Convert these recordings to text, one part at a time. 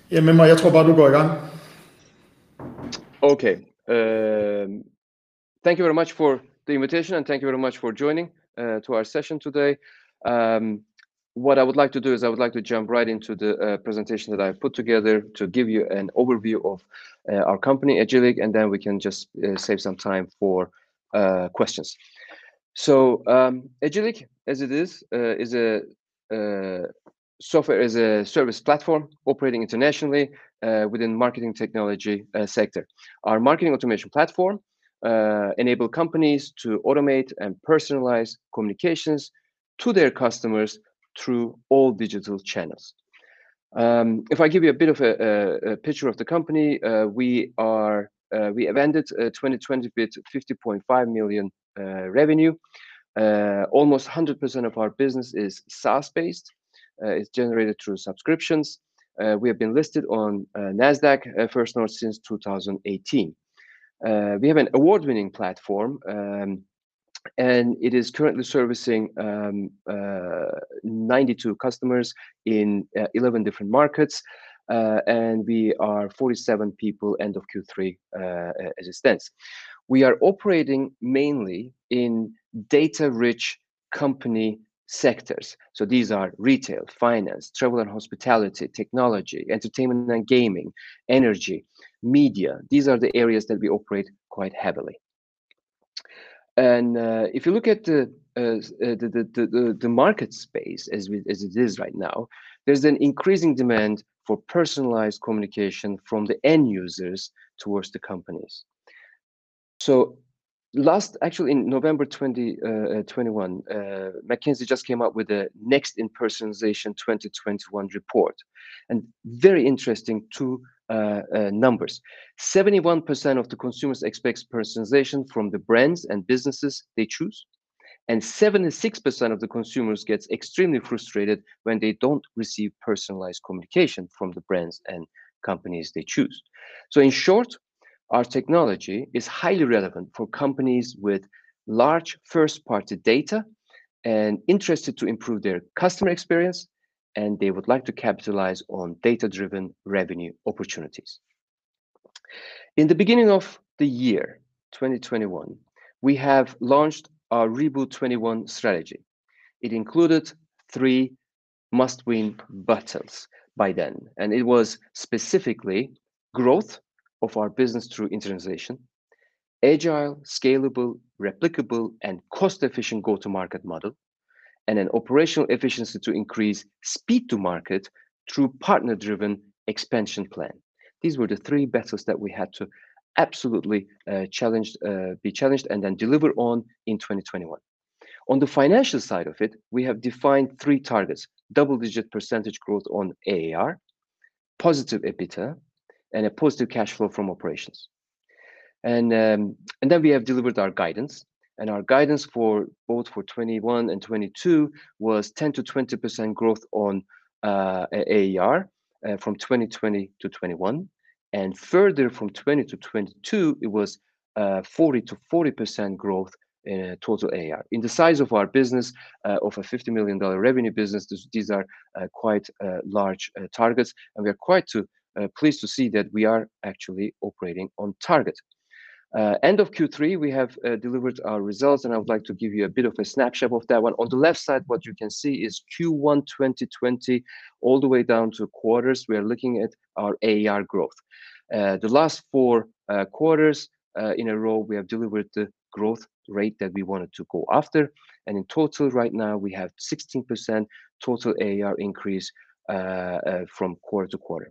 Jamen, jeg tror bare, du går i gang. Okay. Thank you very much for the invitation, and thank you very much for joining to our session today. What I would like to do is I would like to jump right into the presentation that I put together to give you an overview of our company, Agillic, and then we can just save some time for questions. So Agillic, as it is a software as a service platform operating internationally within marketing technology sector. Our marketing automation platform enable companies to automate and personalize communications to their customers through all digital channels. If I give you a bit of a picture of the company, we have ended 2020 with 50.5 million revenue. Almost 100% of our business is SaaS-based. It's generated through subscriptions. We have been listed on NASDAQ First North since 2018. We have an award-winning platform, and it is currently servicing 92 customers in 11 different markets, and we are 47 people end of Q3 as it stands. We are operating mainly in data-rich company sectors. So these are retail, finance, travel and hospitality, technology, entertainment and gaming, energy, media. These are the areas that we operate quite heavily. And if you look at the market space as it is right now, there's an increasing demand for personalized communication from the end users towards the companies. So actually in November 2021, McKinsey just came up with the Next in Personalization 2021 report, and very interesting two numbers. 71% of the consumers expect personalization from the brands and businesses they choose, and 76% of the consumers gets extremely frustrated when they don't receive personalized communication from the brands and companies they choose. So in short, our technology is highly relevant for companies with large first-party data and interested to improve their customer experience, and they would like to capitalize on data-driven revenue opportunities. In the beginning of the year 2021, we have launched our Reboot 21 strategy. It included 3 must-win battles by then, and it was specifically growth of our business through internationalization, agile, scalable, replicable, and cost-efficient go-to-market model, and an operational efficiency to increase speed to market through partner-driven expansion plan. These were the 3 battles that we had to absolutely be challenged and then deliver on in 2021. On the financial side of it, we have defined 3 targets: double-digit % growth on AAR, positive EBITDA, and a positive cash flow from operations. And then we have delivered our guidance, and our guidance for both 21 and 22 was 10 to 20% growth on AAR from 2020 to 21, and further from 20 to 22 it was 40 to 40% growth in total AAR. In the size of our business, of a $50 million revenue business, these are quite large targets, and we are quite pleased to see that we are actually operating on target. End of Q3, we have delivered our results, and I would like to give you a bit of a snapshot of that one. On the left side, what you can see is Q1 2020 all the way down to quarters. We are looking at our AAR growth. The last 4 quarters in a row, we have delivered the growth rate that we wanted to go after, and in total right now we have 16% total AAR increase from quarter to quarter.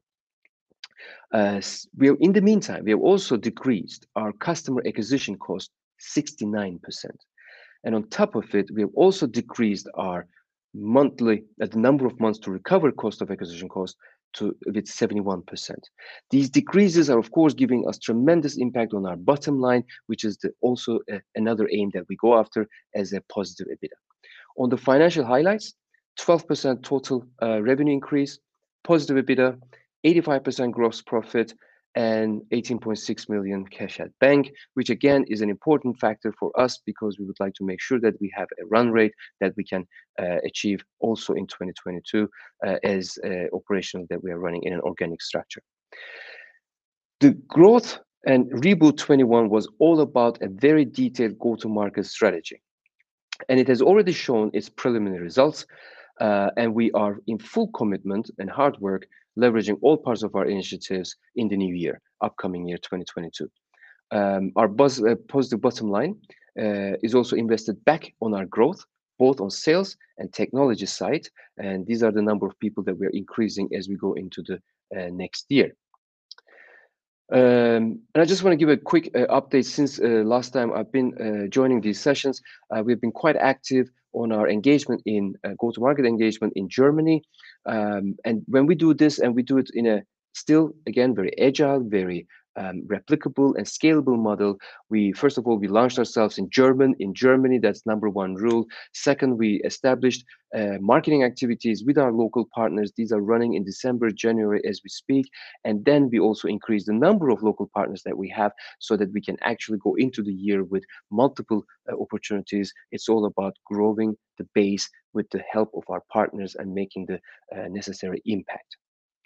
In the meantime, we have also decreased our customer acquisition cost 69%. And on top of it, we have also decreased our the number of months to recover cost of acquisition cost with 71%. These decreases are, of course, giving us tremendous impact on our bottom line, which is also another aim that we go after as a positive EBITDA. On the financial highlights, 12% total revenue increase, positive EBITDA, 85% gross profit, and 18.6 million cash at bank, which again is an important factor for us because we would like to make sure that we have a run rate that we can achieve also in 2022 as operational that we are running in an organic structure. The growth and Reboot 21 was all about a very detailed go-to-market strategy, and it has already shown its preliminary results. And we are in full commitment and hard work, leveraging all parts of our initiatives in the new year, upcoming year 2022. Our positive bottom line is also invested back on our growth, both on sales and technology side. And these are the number of people that we are increasing as we go into the next year. And I just want to give a quick update. Since last time I've been joining these sessions, we've been quite active on our engagement in go-to-market engagement in Germany. And when we do this, and we do it in a still, again, very agile, very replicable and scalable model, we first of all, we launched ourselves in Germany. That's number one rule. Second, we established marketing activities with our local partners. These are running in December, January as we speak. And then we also increase the number of local partners that we have so that we can actually go into the year with multiple opportunities. It's all about growing the base with the help of our partners and making the necessary impact.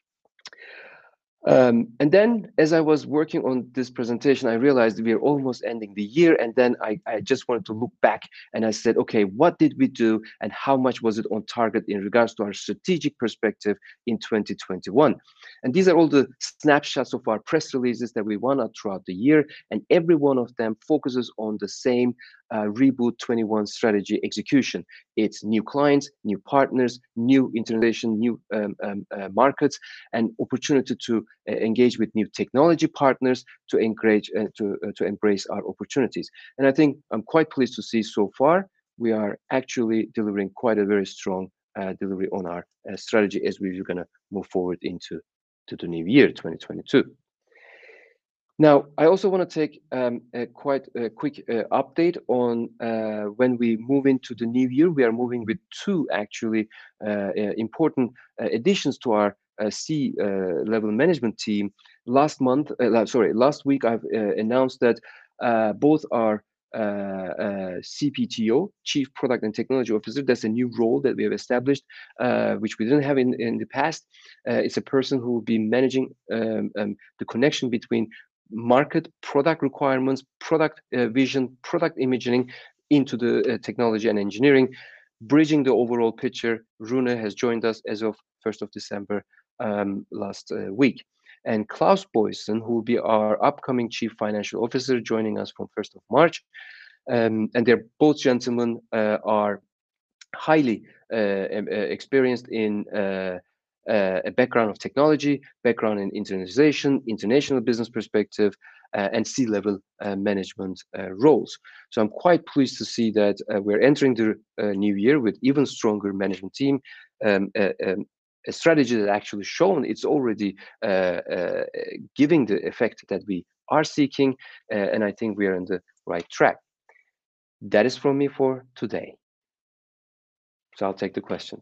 And then as I was working on this presentation, I realized we are almost ending the year. And then I just wanted to look back and I said, okay, what did we do and how much was it on target in regards to our strategic perspective in 2021? And these are all the snapshots of our press releases that we won out throughout the year. And every one of them focuses on the same Reboot 21 strategy execution. It's new clients, new partners, new internationalization, new markets, and opportunity to engage with new technology partners to engage to embrace our opportunities. And I think I'm quite pleased to see so far we are actually delivering quite a very strong delivery on our strategy as we're going to move forward into the new year 2022. Now, I also want to take a quite quick update on when we move into the new year. We are moving with two actually important additions to our C-level management team. Last week I've announced that both our CPTO, Chief Product and Technology Officer, that's a new role that we have established, which we didn't have in the past. It's a person who will be managing the connection between market, product requirements, product vision, product imaging into the technology and engineering, bridging the overall picture. Rune has joined us as of 1st of December last week. And Klaus Boysen, who will be our upcoming Chief Financial Officer, joining us from 1st of March. And they're both gentlemen are highly experienced in a background of technology, background in internationalization, international business perspective, and C-level management roles. So I'm quite pleased to see that we're entering the new year with even stronger management team, a strategy that actually shown it's already giving the effect that we are seeking, and I think we are on the right track. That is from me for today. So I'll take the questions.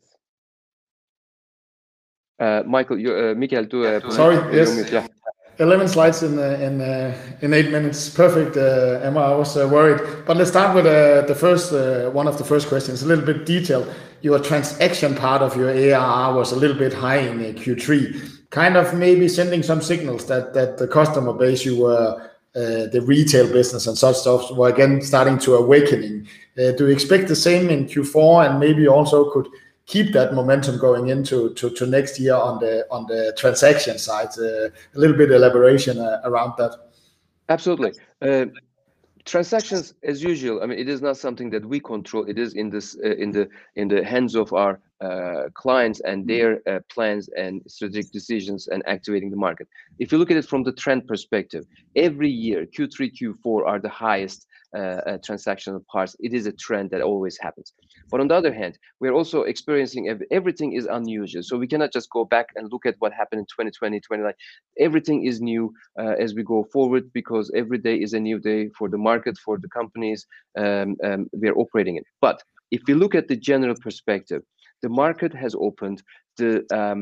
Michael, Mikael, sorry, yes. Yeah. 11 slides in 8 minutes. Perfect, Emma. I was worried. But let's start with the first one of the first questions, a little bit detailed. Your transaction part of your ARR was a little bit high in Q3, kind of maybe sending some signals that the customer base you were the retail business and such stuff were again starting to awakening. Do you expect the same in Q4 and maybe also could keep that momentum going into next year on the transaction side? A little bit elaboration around that. Absolutely. Transactions, as usual, I mean, it is not something that we control. It is in the hands of our clients and their plans and strategic decisions and activating the market. If you look at it from the trend perspective, every year Q3, Q4 are the highest transactional parts. It is a trend that always happens. But on the other hand, we're also experiencing everything is unusual. So we cannot just go back and look at what happened in 2020, 2021. Everything is new as we go forward, because every day is a new day for the market, for the companies we are operating in. But if you look at the general perspective, the market has opened. The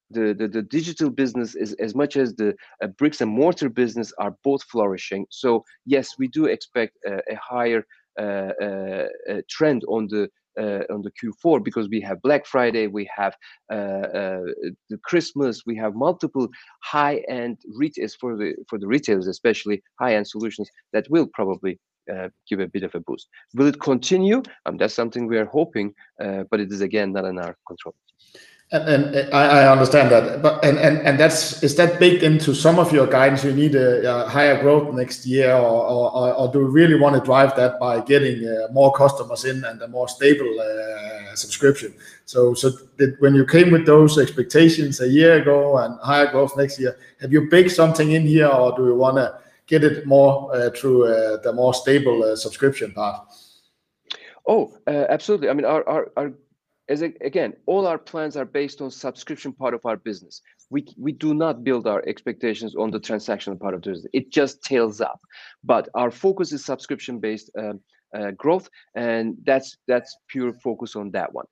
the digital business is as much as the bricks and mortar business are both flourishing. So yes, we do expect a higher trend on the Q4, because we have Black Friday, we have the Christmas, we have multiple high-end retailers for the retailers, especially high-end solutions that will probably give a bit of a boost. Will it continue? That's something we are hoping, but it is again not in our control. And I understand that, but and is that baked into some of your guidance? You need a higher growth next year, or do you really want to drive that by getting more customers in and a more stable subscription? So when you came with those expectations a year ago and higher growth next year, have you baked something in here, or do you want to get it more through the more stable subscription part? Oh, absolutely. I mean, again, all our plans are based on subscription part of our business. We do not build our expectations on the transactional part of the business. It just tails up. But our focus is subscription-based growth, and that's pure focus on that one.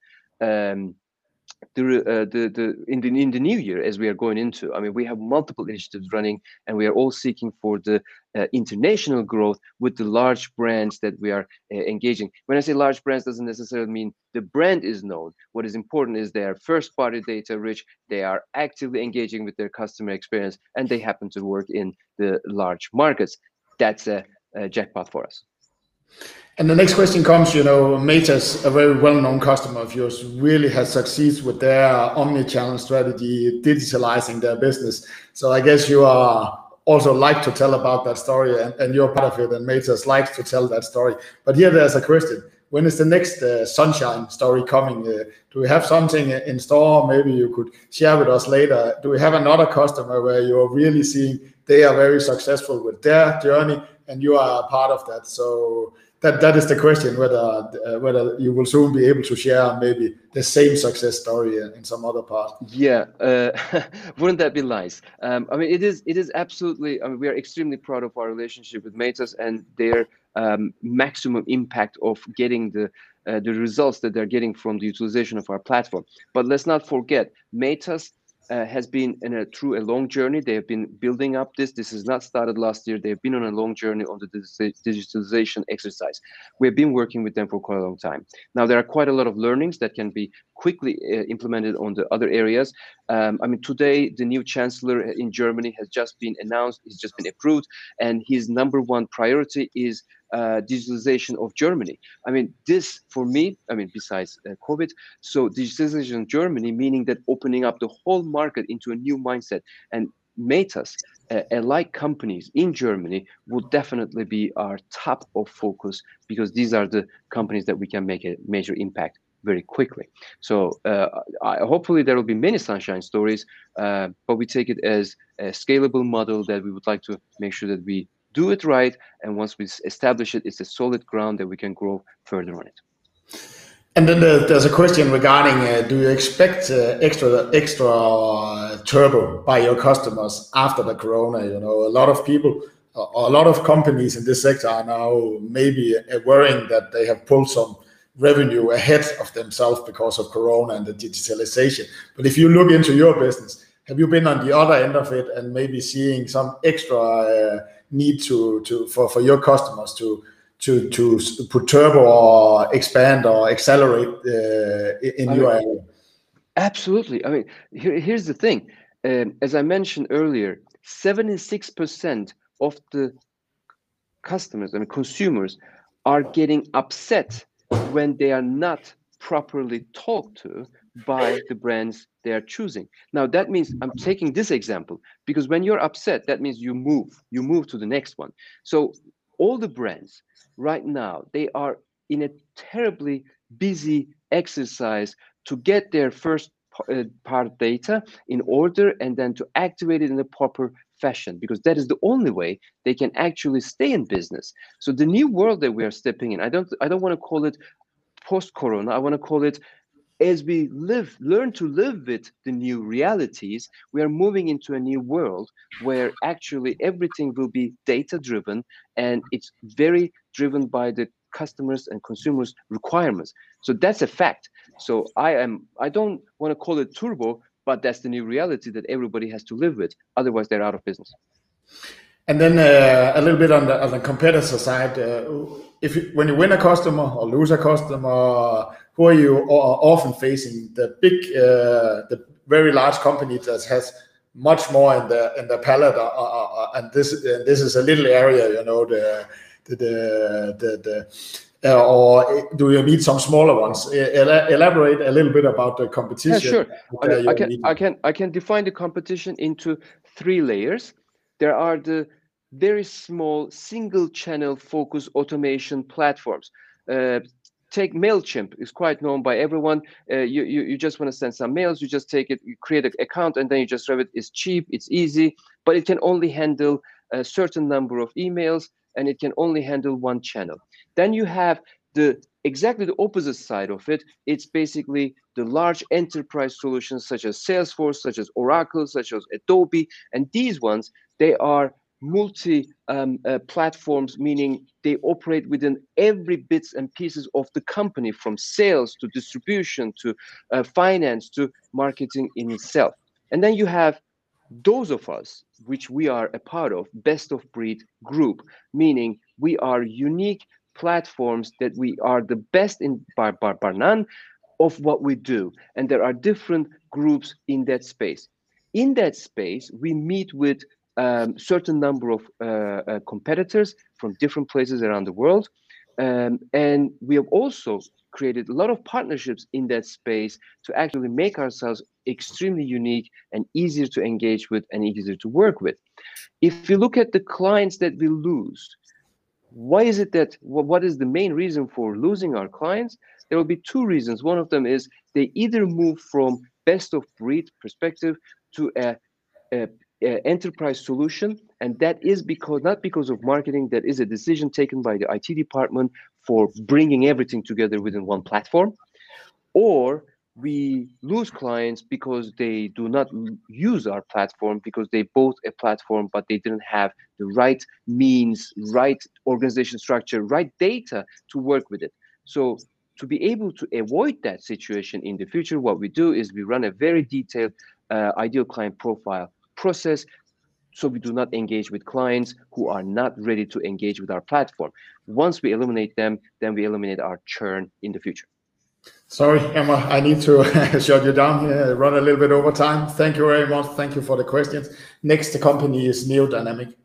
In the new year, as we are going into, I mean, we have multiple initiatives running, and we are all seeking for the international growth with the large brands that we are engaging. When I say large brands, doesn't necessarily mean the brand is known. What is important is they are first-party data rich, they are actively engaging with their customer experience, and they happen to work in the large markets. That's a jackpot for us. And the next question comes, Matas, a very well-known customer of yours, really has succeeded with their omni-channel strategy, digitalizing their business. So I guess you are also like to tell about that story, and you're part of it, and Matas likes to tell that story. But here there's a question. When is the next Sunshine story coming? Do we have something in store? Maybe you could share with us later. Do we have another customer where you're really seeing they are very successful with their journey, and you are a part of that? So that is the question, whether you will soon be able to share maybe the same success story in some other part. Yeah, wouldn't that be nice? I mean, it is absolutely. I mean, we are extremely proud of our relationship with Matas and their maximum impact of getting the results that they're getting from the utilization of our platform. But let's not forget, Matas has been through a long journey. They have been building up this. This has not started last year. They've been on a long journey on the digitalization exercise. We've been working with them for quite a long time. Now, there are quite a lot of learnings that can be quickly implemented on the other areas. I mean, today, the new chancellor in Germany has just been announced. He's just been approved. And his #1 priority is digitalization of Germany. I mean, this for me, I mean, besides COVID, so digitalization of Germany, meaning that opening up the whole market into a new mindset. And Matas, alike companies in Germany, will definitely be our top of focus, because these are the companies that we can make a major impact very quickly. So hopefully there will be many Sunshine stories, but we take it as a scalable model that we would like to make sure that we do it right, and once we establish it, it's a solid ground that we can grow further on it. And then there's a question regarding, do you expect extra turbo by your customers after the corona? A lot of people, a lot of companies in this sector are now maybe worrying that they have pulled some revenue ahead of themselves because of corona and the digitalization. But if you look into your business, have you been on the other end of it and maybe seeing some extra need for your customers to put turbo or expand or accelerate in your area? Absolutely. I mean, here's the thing. As I mentioned earlier, 76% of the customers, I mean consumers, are getting upset when they are not properly talked to by the brands they are choosing. Now, that means I'm taking this example because when you're upset, that means you move to the next one. So all the brands right now, they are in a terribly busy exercise to get their first part data in order and then to activate it in a proper fashion, because that is the only way they can actually stay in business. So the new world that we are stepping in, I don't want to call it post-corona. I want to call it, as we learn to live with the new realities, we are moving into a new world where actually everything will be data-driven, and it's very driven by the customers and consumers' requirements. So that's a fact. So I don't want to call it turbo, but that's the new reality that everybody has to live with. Otherwise, they're out of business. And then a little bit on the competitor side, when you win a customer or lose a customer, who are you often facing? The big, the very large company that has much more in the palette, and this is a little area, you know, or do you meet some smaller ones? Elaborate a little bit about the competition. Yeah, sure. I can define the competition into 3 layers. There are the very small single channel focus automation platforms. Take MailChimp, is quite known by everyone. You just want to send some mails, you just take it, you create an account, and then you just run it. It's cheap, it's easy, but it can only handle a certain number of emails, and it can only handle 1 channel. Then you have exactly the opposite side of it. It's basically the large enterprise solutions such as Salesforce, such as Oracle, such as Adobe, and these ones, they are multi platforms, meaning they operate within every bits and pieces of the company, from sales to distribution to finance to marketing in itself. And then you have those of us, which we are a part of, best of breed group, meaning we are unique platforms that we are the best in bar none of what we do. And there are different groups in that space. In that space, we meet with certain number of competitors from different places around the world. And we have also created a lot of partnerships in that space to actually make ourselves extremely unique and easier to engage with and easier to work with. If you look at the clients that we lose, why is it that, what is the main reason for losing our clients? There will be 2 reasons. One of them is they either move from best of breed perspective to a enterprise solution, and that is not because of marketing. That is a decision taken by the IT department for bringing everything together within 1 platform. Or we lose clients because they do not use our platform, because they bought a platform but they didn't have the right means, right organization structure, right data to work with it. So to be able to avoid that situation in the future, what we do is we run a very detailed ideal client profile process, so we do not engage with clients who are not ready to engage with our platform. Once we eliminate them, then we eliminate our churn in the future. Sorry, Emma, I need to shut you down here, run a little bit over time. Thank you very much. Thank you for the questions. Next company is Neodynamic.